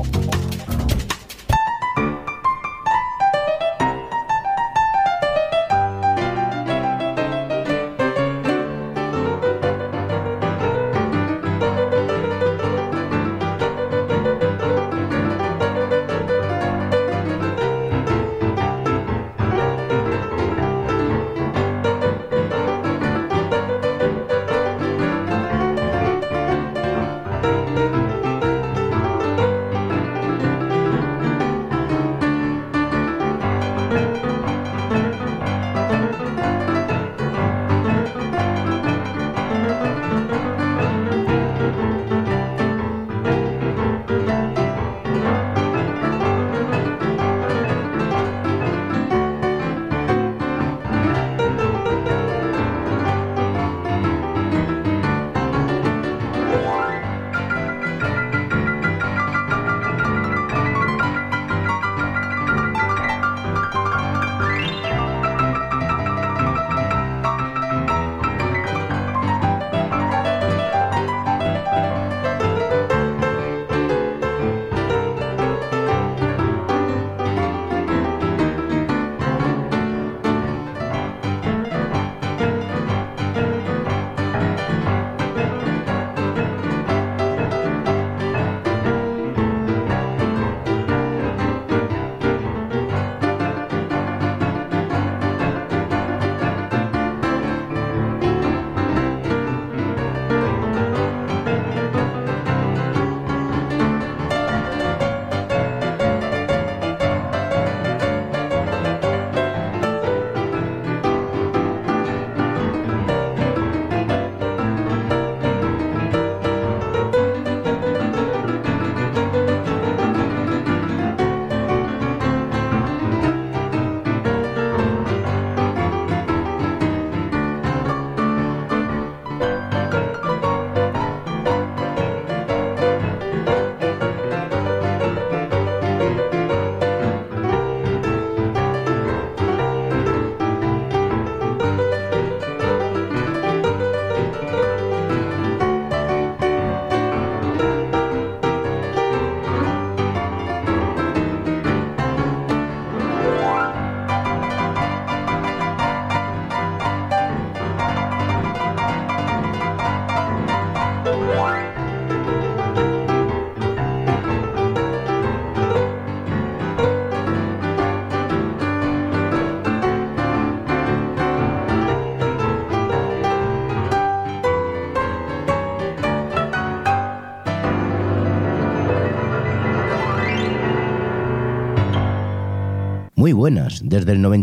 Muy buenas, desde el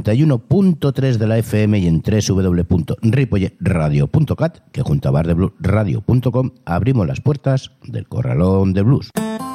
91.3 de la FM y en www.ripolletradio.cat, que junto a bardebluesradio.com abrimos las puertas del Corralón de Blues.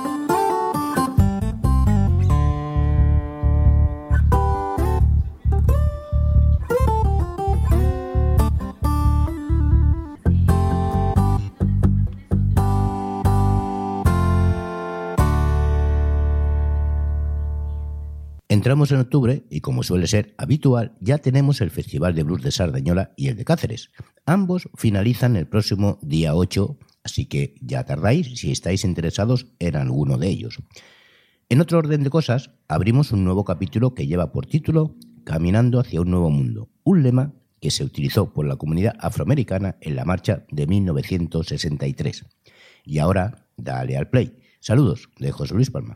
Entramos en octubre y, como suele ser habitual, ya tenemos el Festival de Blues de Sardañola y el de Cáceres. Ambos finalizan el próximo día 8, así que ya tardáis si estáis interesados en alguno de ellos. En otro orden de cosas, abrimos un nuevo capítulo que lleva por título Caminando hacia un nuevo mundo, un lema que se utilizó por la comunidad afroamericana en la marcha de 1963. Y ahora, dale al play. Saludos de José Luis Palma.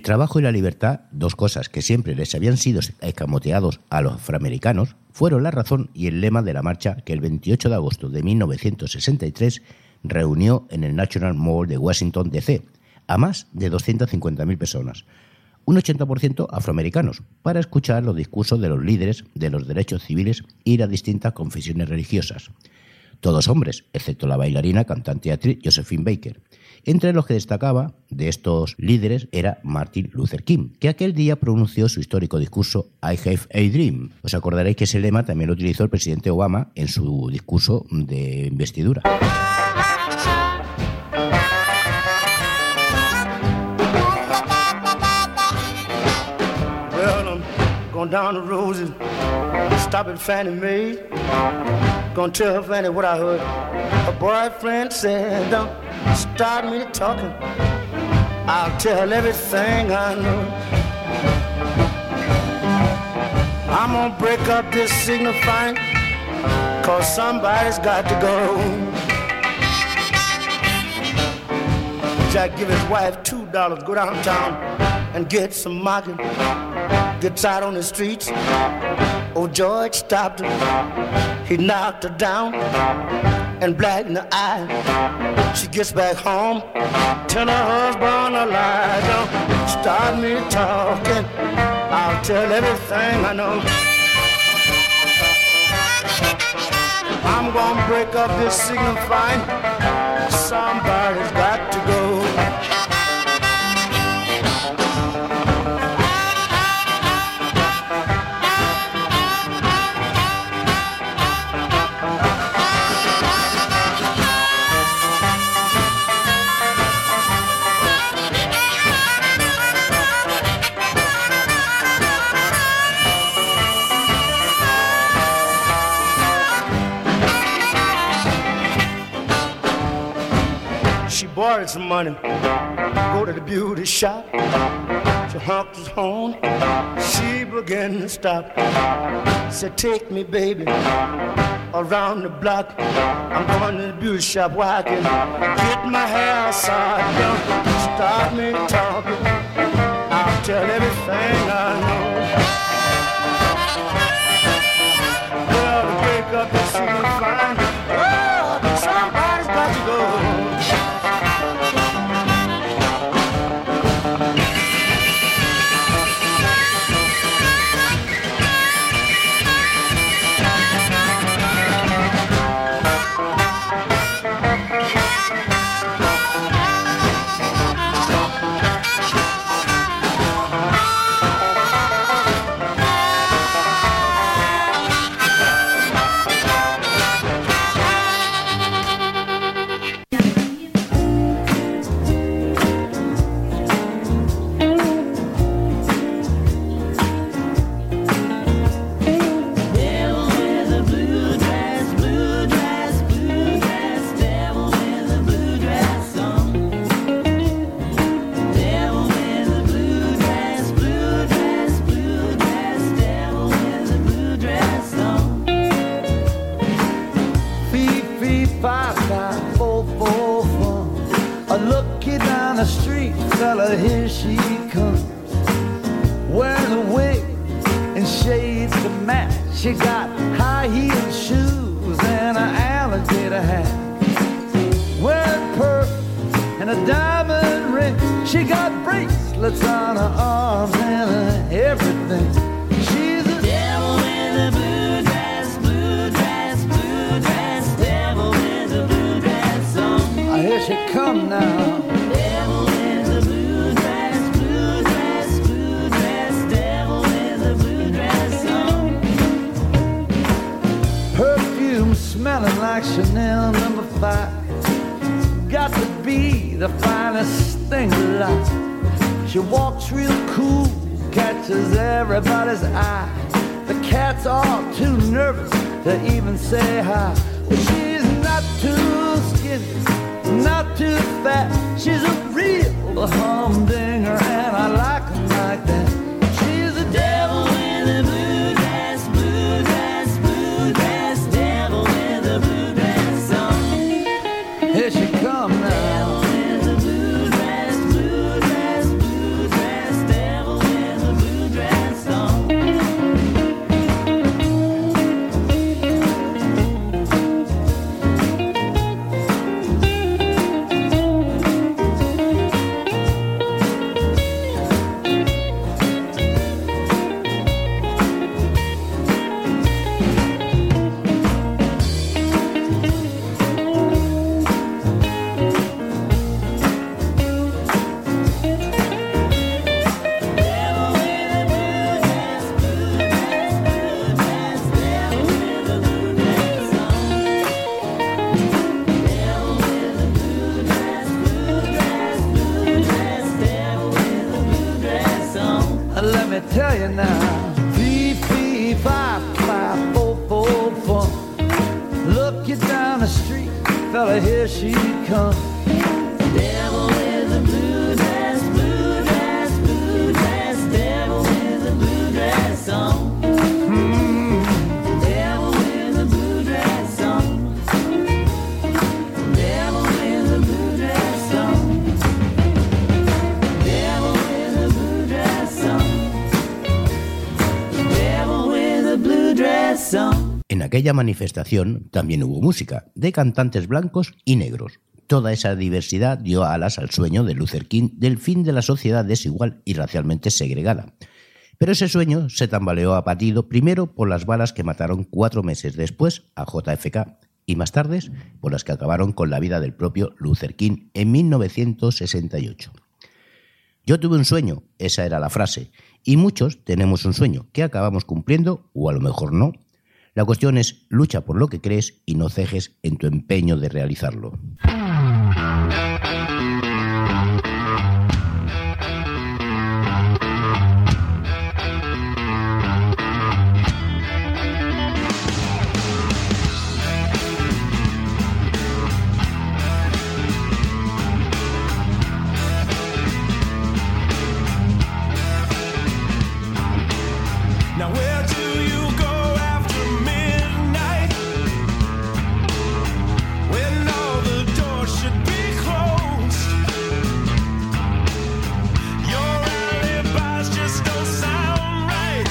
trabajo y la libertad, dos cosas que siempre les habían sido escamoteados a los afroamericanos, fueron la razón y el lema de la marcha que el 28 de agosto de 1963 reunió en el National Mall de Washington, D.C., a más de 250.000 personas, un 80% afroamericanos, para escuchar los discursos de los líderes de los derechos civiles y las distintas confesiones religiosas. Todos hombres, excepto la bailarina, cantante y actriz Josephine Baker. Entre los que destacaba de estos líderes era Martin Luther King, que aquel día pronunció su histórico discurso I Have a Dream. Os acordaréis que ese lema también lo utilizó el presidente Obama en su discurso de investidura. Going down the road and stop at Fannie Mae. Gonna tell Fannie what I heard. Her boyfriend said, don't start me talking. I'll tell everything I know. I'm gonna break up this signifying, cause somebody's got to go. Jack give his wife $2, go downtown and get some market. Gets out on the streets. Oh, George stopped her. He knocked her down and black in the eye. She gets back home, tell her husband a lie. Don't start me talking, I'll tell everything I know. I'm gonna break up this signifying, somebody's got to go. Borrowed some money, go to the beauty shop. She honked his horn, she began to stop. Said, take me, baby, around the block. I'm going to the beauty shop where I can get my hair side. Don't start me talking, I'll tell everything I know. Well, to break up the scene fine, well, somebody's got to go. She got high-heeled shoes and an alligator hat. Wearing pearls and a diamond ring. She got bracelets on her arms and everything. She's a devil in the blue dress, blue dress, blue dress. Devil in the blue dress song. Here she come now. Devil in the blue dress, blue dress, blue dress. Devil in the blue dress song. Perfume smelling like Chanel No. 5. Got to be the finest thing alive. She walks real cool, catches everybody's eye. The cats are too nervous to even say hi. Well, she's not too skinny, not too fat. She's a real humdinger, and I like her like that. She's the devil in the blue dress, blue dress, blue dress. Devil in the blue dress song. Here she come now. Devil in the blue dress, blue dress, blue dress. tell you now. 3, 3, 5, 5, 4, 4, 4. Look you down the street, fella, here she comes. Devil with a blue dress, blue dress, blue dress. Devil with a blue dress on. Devil with a blue dress on. Devil with a blue dress on. Devil with a blue dress on. Devil with a blue dress on. En aquella manifestación también hubo música, de cantantes blancos y negros. Toda esa diversidad dio alas al sueño de Luther King del fin de la sociedad desigual y racialmente segregada. Pero ese sueño se tambaleó abatido primero por las balas que mataron 4 meses después a JFK y más tarde por las que acabaron con la vida del propio Luther King en 1968. Yo tuve un sueño, esa era la frase, y muchos tenemos un sueño que acabamos cumpliendo o a lo mejor no. La cuestión es lucha por lo que crees y no cejes en tu empeño de realizarlo. Now where do you go after midnight? When all the doors should be closed. Your alibis just don't sound right.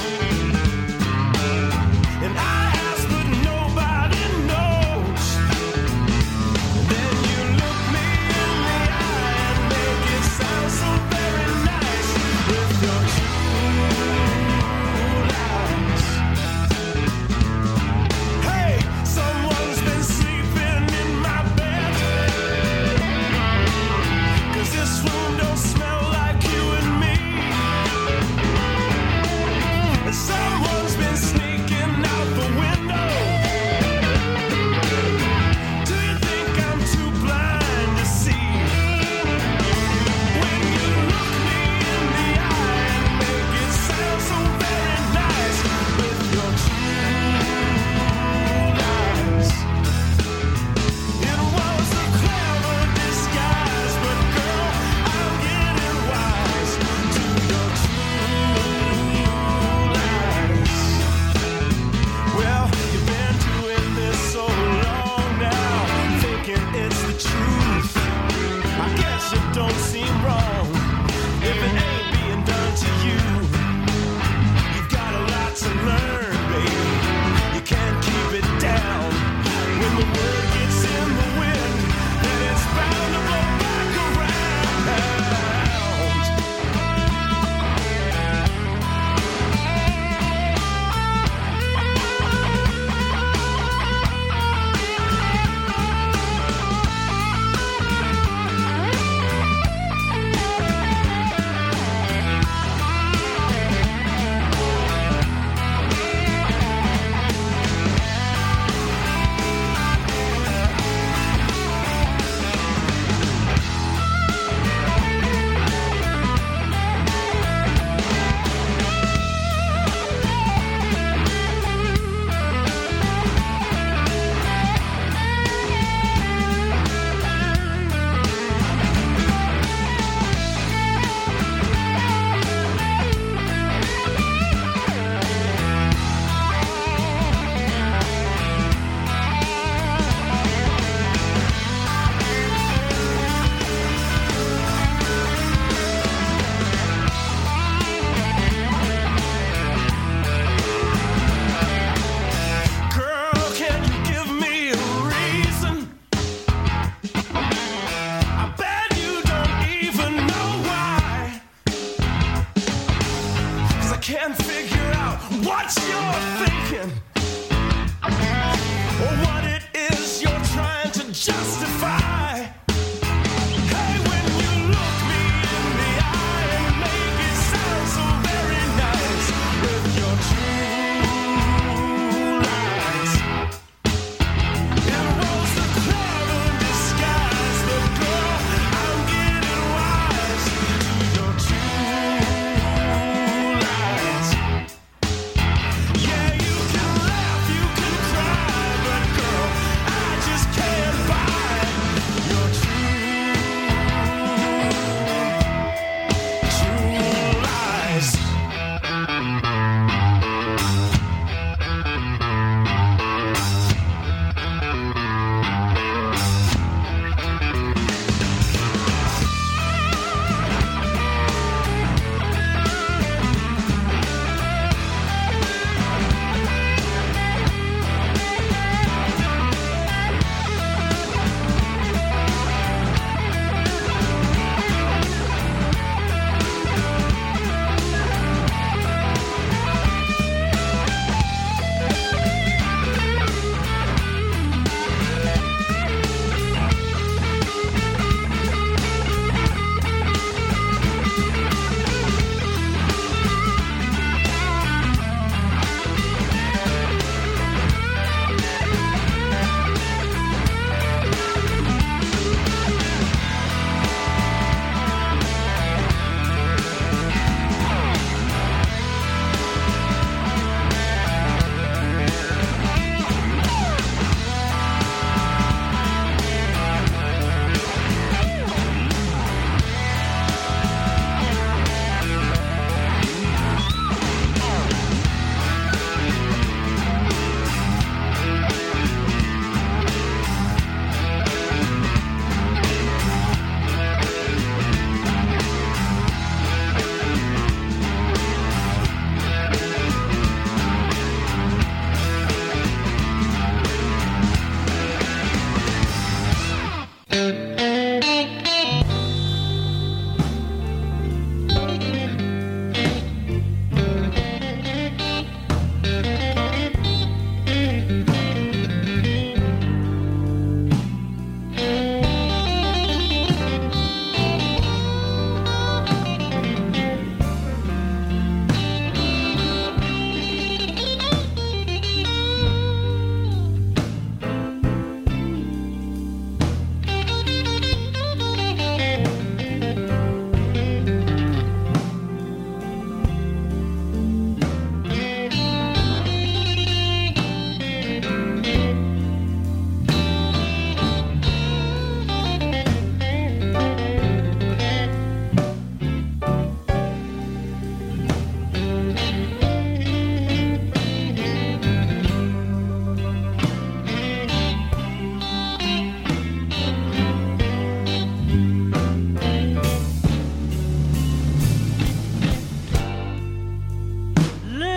And I ask but nobody knows. Then you look me in the eye and make it sound so very nice with your hey, someone's been sleeping in my bed. 'Cause this room don't smell like you and me. And someone's been sneaking out the window. Do you think I'm too blind to see? When you look me in the eye and make it sound so very nice with your lies. It was a clever disguise, but girl, I'm getting wise to your true lies. Well, you've been doing this so long now, thinking it's the truth. I guess it don't seem wrong if it ain't being done to you. You've got a lot to learn, baby. You can't keep it down. When the word gets in the wind, then it's bound to blow back around. Girl, can you give me a reason? I bet you don't even know why. 'Cause I can't figure out what you're thinking or what it is you're trying to justify. Hey, when you look me in the eye and make it sound so very nice with your true lies. It was a clever disguise, but girl, I'm getting wise to your true lies.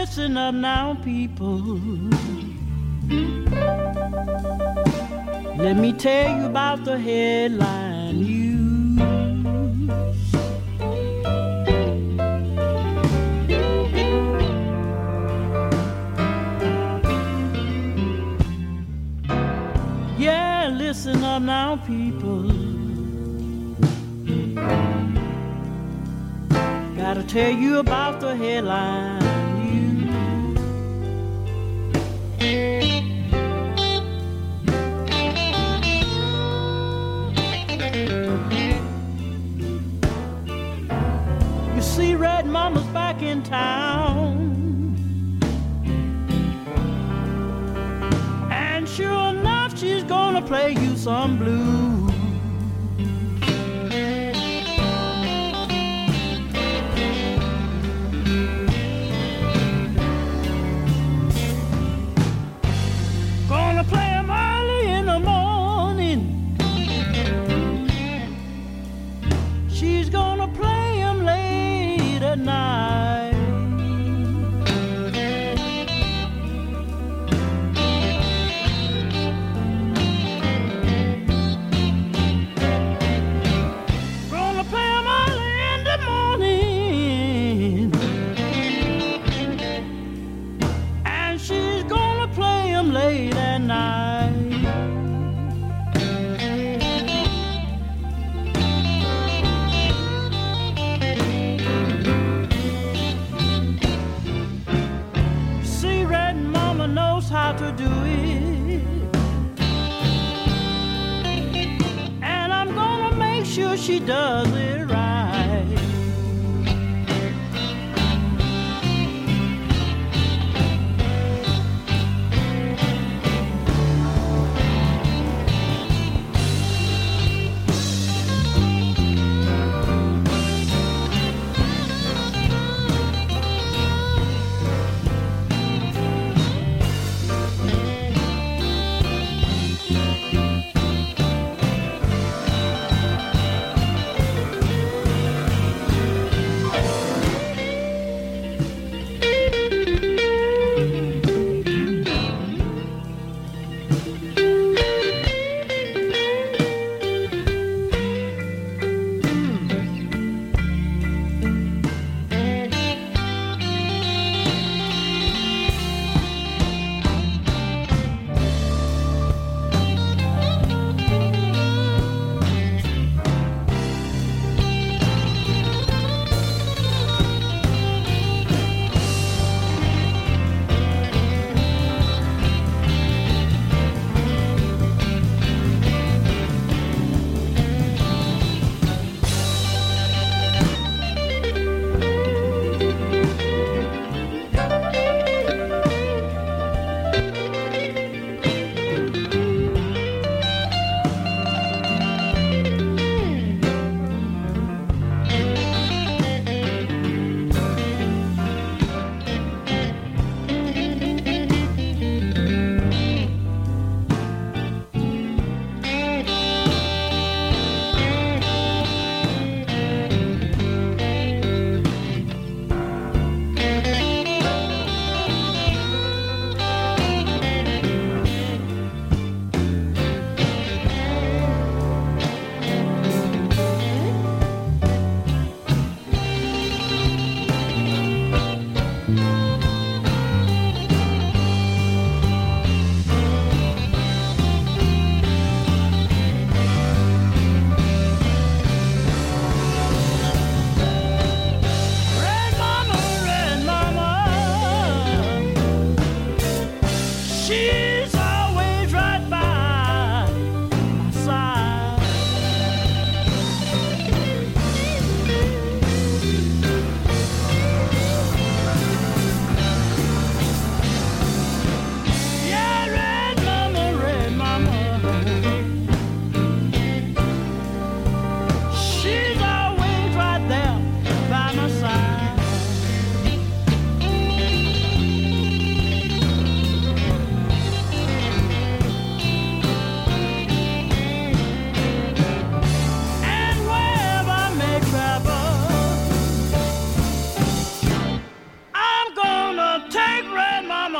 listen up now, people. Let me tell you about the headline news. Yeah, listen up now, people. Gotta tell you about the headline news. You see, Red Mama's back in town, and sure enough, she's gonna play you some blues. Gonna play 'em early in the morning. She's gonna play 'em late at night. Gonna play 'em early in the morning. And she's gonna play 'em late at night. See, Red Mama knows how to do it, and I'm gonna make sure she does it right.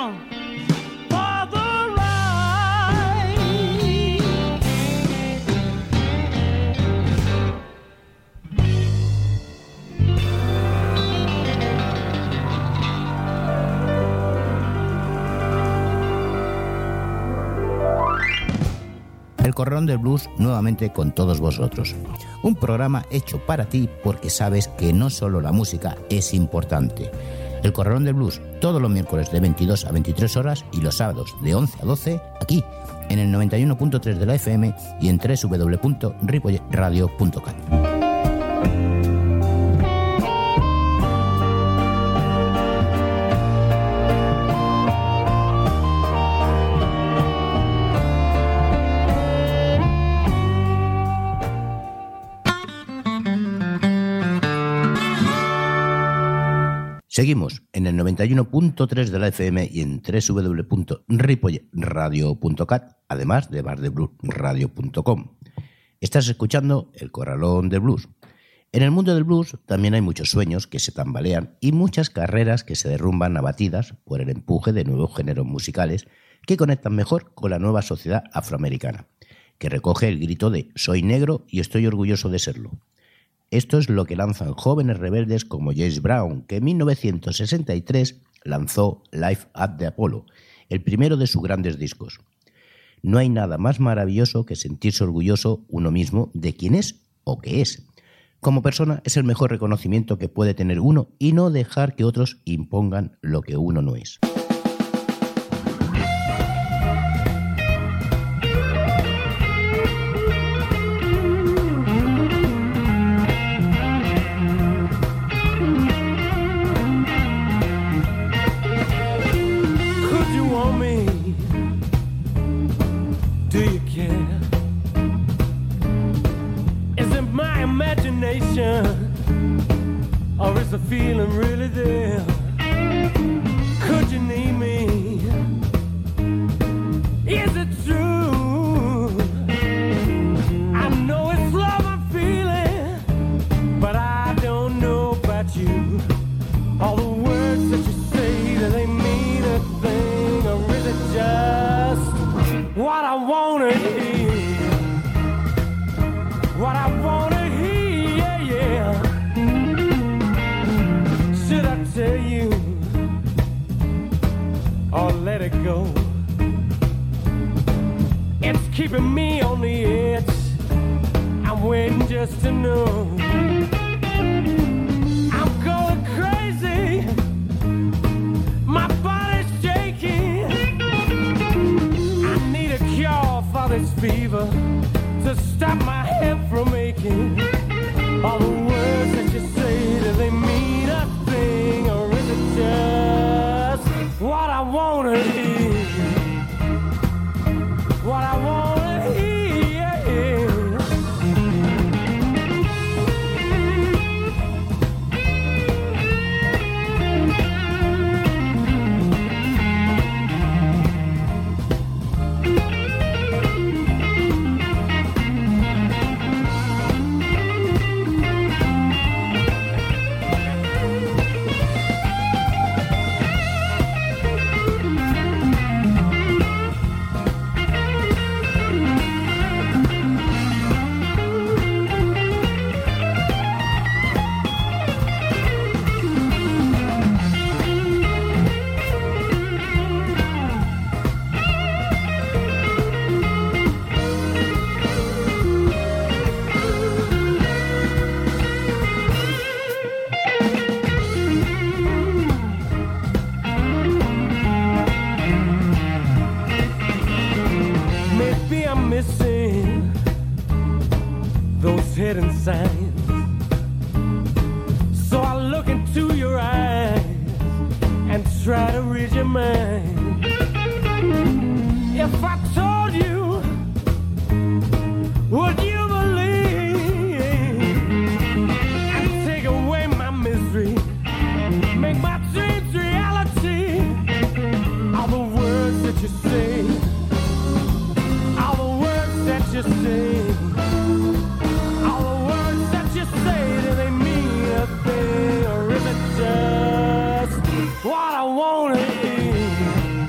along for the ride. El Corralón del Blues nuevamente con todos vosotros. Un programa hecho para ti porque sabes que no solo la música es importante. El Corralón del Blues todos los miércoles de 22 a 23 horas y los sábados de 11 a 12 aquí en el 91.3 de la FM y en www.ripolletradio.cat. Seguimos en el 91.3 de la FM y en www.ripolletradio.cat, además de bardebluesradio.com. Estás escuchando El Corralón del Blues. En el mundo del blues también hay muchos sueños que se tambalean y muchas carreras que se derrumban abatidas por el empuje de nuevos géneros musicales que conectan mejor con la nueva sociedad afroamericana, que recoge el grito de «Soy negro y estoy orgulloso de serlo». Esto es lo que lanzan jóvenes rebeldes como James Brown, que en 1963 lanzó Live at the Apollo, el primero de sus grandes discos. No hay nada más maravilloso que sentirse orgulloso uno mismo de quién es o qué es. Como persona es el mejor reconocimiento que puede tener uno y no dejar que otros impongan lo que uno no es. Or is the feeling really there? Could you need me? Is it true? I know it's love I'm feeling, but I don't know about you. All the words that you say, do they mean a thing? Or is it just what I wanna hear? What I wanna hear, yeah. Should I tell you or let it go? It's keeping me on the edge. I'm waiting just to know. I'm going crazy. My body's shaking. I need a cure for this fever to stop my head from aching. All the words that you say, do they mean a thing? Or is it just what I wanna hear? What I wanna hear. Hidden signs. So I look into your eyes and try to read your mind. If I told you, would you believe and take away my misery, make my dreams reality? All the words that you say, all the words that you say, what I wanna hear.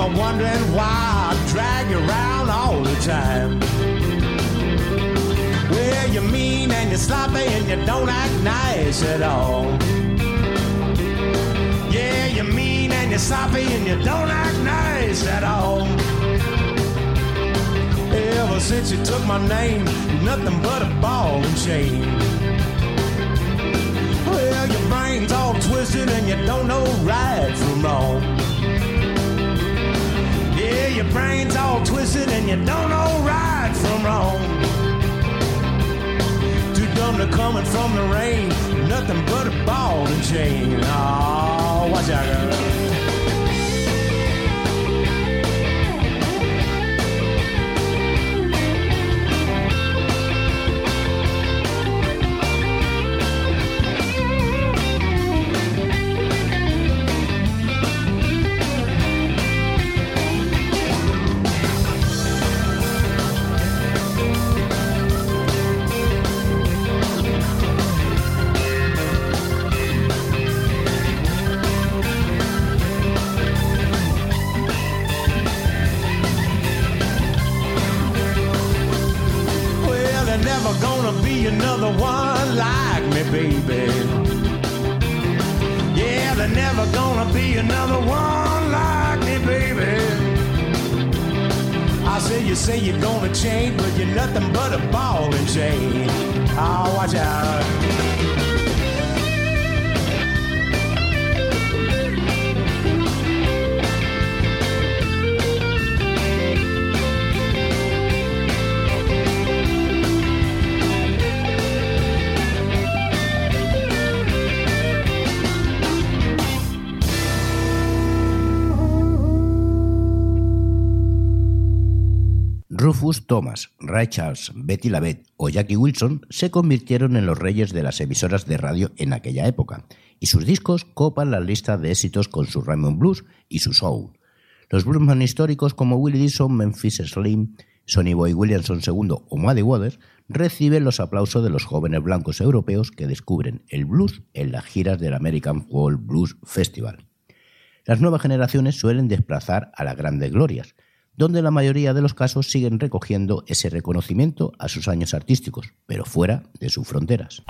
ever wondering why I drag you around all the time? Well, you're mean and you're sloppy and you don't act nice at all. Yeah, you're mean and you're sloppy and you don't act nice at all. Ever since you took my name, you're nothing but a ball and chain. Well, your brain's all twisted and you don't know right from wrong. Yeah, your brain's all twisted and you don't know right from wrong. Too dumb to coming from the rain, nothing but a ball and chain. Oh, watch out, girl. Another one like me, baby. Yeah, there's never gonna be another one like me, baby. I say you're gonna change, but you're nothing but a ball and chain. Oh, watch out. Rufus Thomas, Ray Charles, Betty LaVette o Jackie Wilson se convirtieron en los reyes de las emisoras de radio en aquella época, y sus discos copan la lista de éxitos con su Rhythm and Blues y su soul. Los bluesman históricos como Willie Dixon, Memphis Slim, Sonny Boy Williamson II o Muddy Waters reciben los aplausos de los jóvenes blancos europeos que descubren el blues en las giras del American Folk Blues Festival. Las nuevas generaciones suelen desplazar a las grandes glorias, donde en la mayoría de los casos siguen recogiendo ese reconocimiento a sus años artísticos, pero fuera de sus fronteras.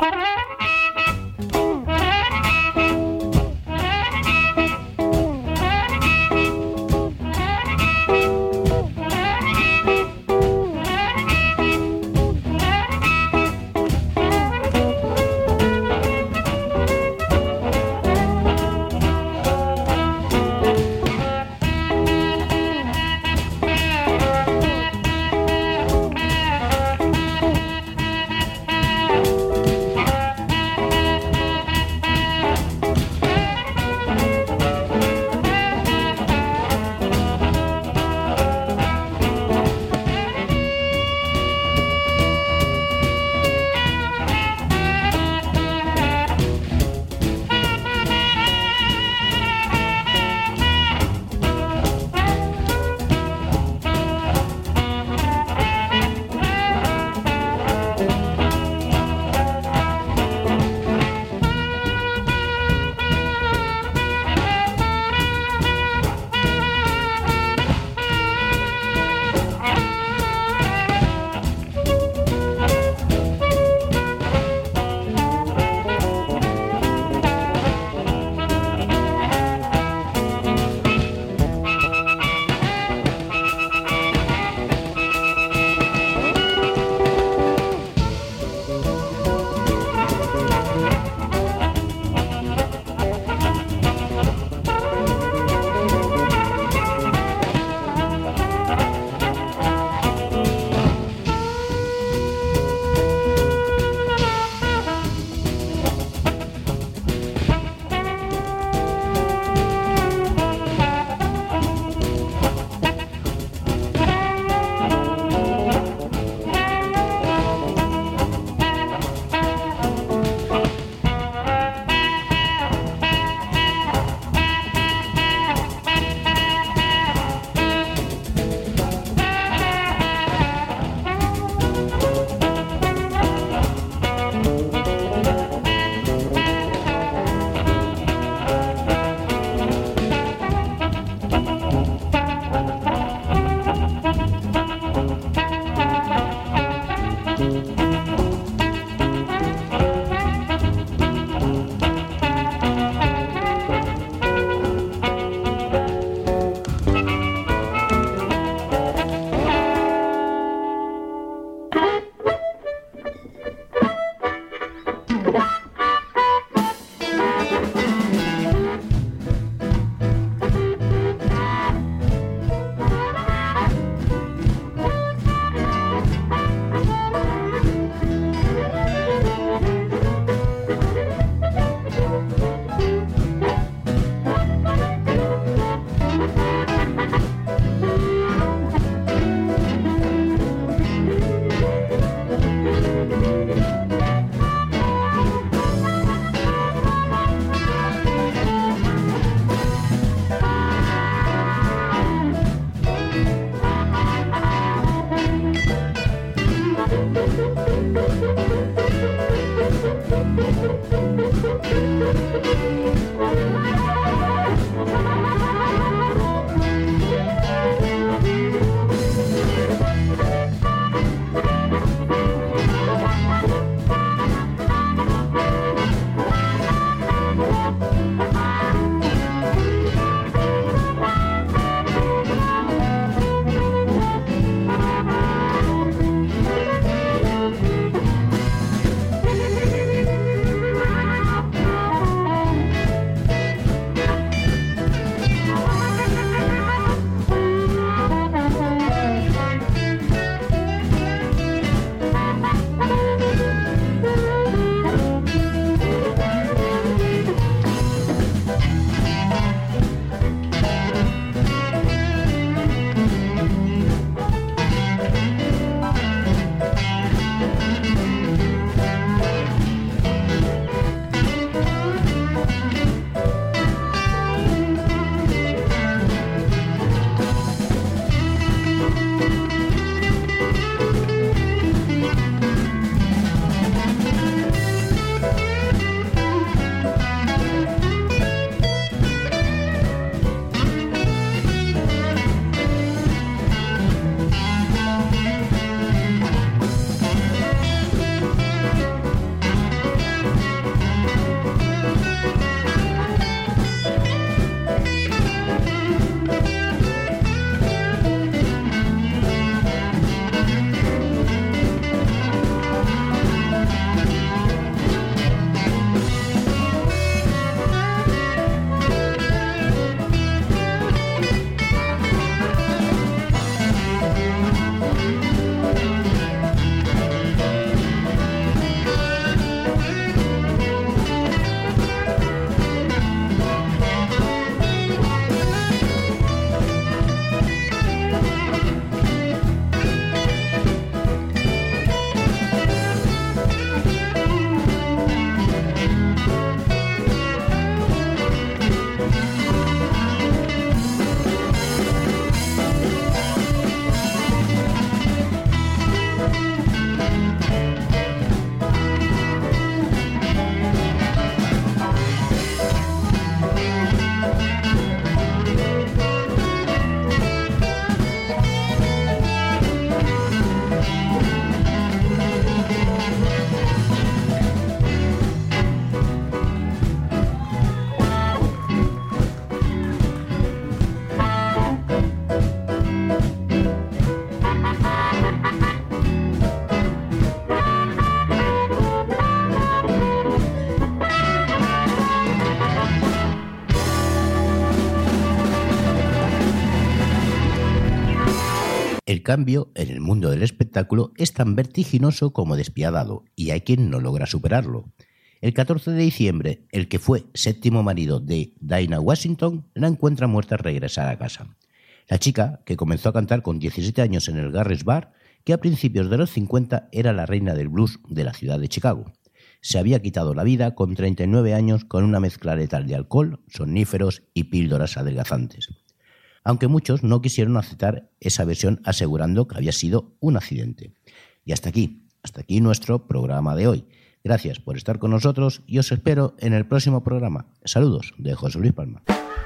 El cambio en el mundo del espectáculo es tan vertiginoso como despiadado, y hay quien no logra superarlo. El 14 de diciembre, el que fue séptimo marido de Dinah Washington la encuentra muerta al regresar a casa. La chica, que comenzó a cantar con 17 años en el Garris Bar, que a principios de los 50 era la reina del blues de la ciudad de Chicago. Se había quitado la vida con 39 años con una mezcla letal de alcohol, somníferos y píldoras adelgazantes. Aunque muchos no quisieron aceptar esa versión asegurando que había sido un accidente. Y hasta aquí nuestro programa de hoy. Gracias por estar con nosotros y os espero en el próximo programa. Saludos de José Luis Palma.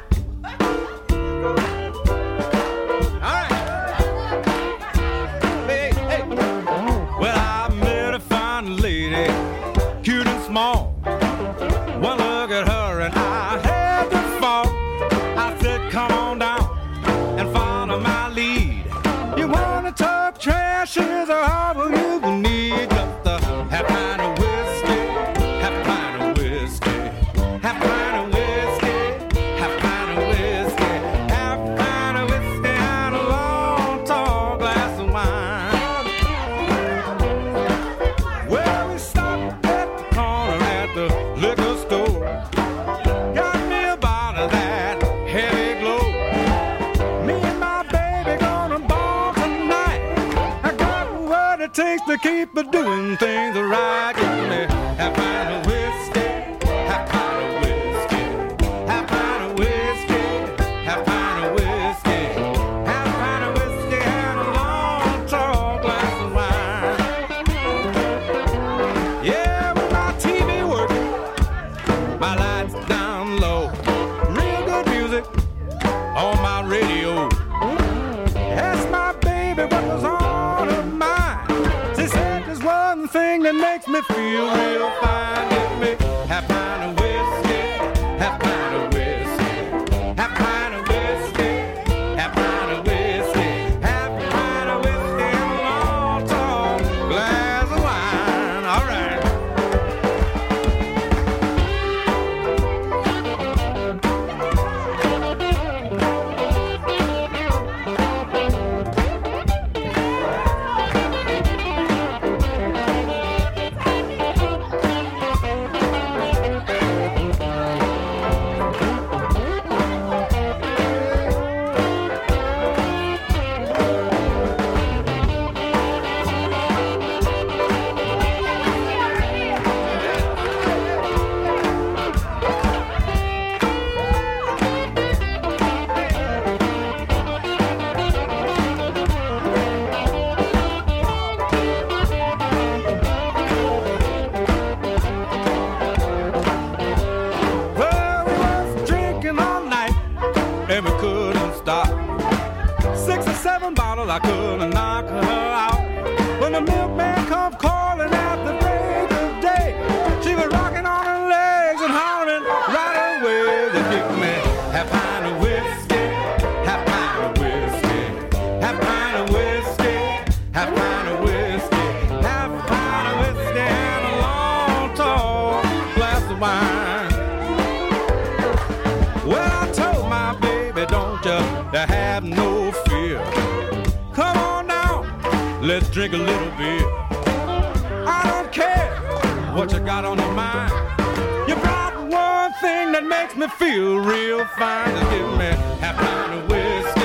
Well, I met a fine lady, cute and small. One look at her and I had to fall. I said, come on down and follow my lead. You wanna talk trash, here's a harbor you will need. Just a half pint of whiskey, half pint of whiskey, half pint of whiskey, half pint of whiskey, half pint of whiskey and a long tall glass of wine. Well, we stopped at the corner at the liquor store. Got me a bottle of that heavy glow. Me and my baby gonna ball tonight. I got what it takes to keep doing things right. Give me half pint of whiskey, half pint of whiskey, half pint of whiskey, half pint of whiskey, half pint of whiskey and a long tall glass of wine. Yeah, with my TV working, my lights down low, real good music on my radio. Ask my baby what was on her mind. She said there's one thing that makes me feel real fine. Give me half pint of whiskey, half pint of whiskey, half pint of whiskey, half pint of whiskey, half pint of whiskey and a long tall glass of wine. All right. Well, we was drinking all night and we couldn't stop. 6 or 7 bottles, I couldn't knock her out. When the milkman come calling at the break of day, she was rocking on her legs and hollering right away. They give me half pint of whiskey, half pint of whiskey, half pint of whiskey, half pint of whiskey, half pint of whiskey and a long tall glass of wine. Well, I told my baby, don't you have no fear. Come on now, let's drink a little beer. I don't care what you got on your mind. You brought one thing that makes me feel real fine. Just give me half pint of whiskey,